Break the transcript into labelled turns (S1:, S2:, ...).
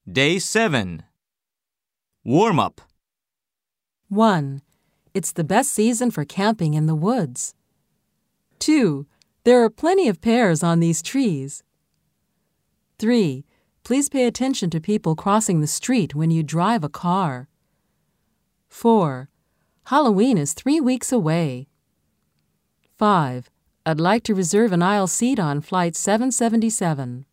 S1: Day 7. Warm up.
S2: 1. It's the best season for camping in the woods. 2. There are plenty of pears on these trees. 3. Please pay attention to people crossing the street when you drive a car. 4. Halloween is 3 weeks away. 5. I'd like to reserve an aisle seat on Flight 777.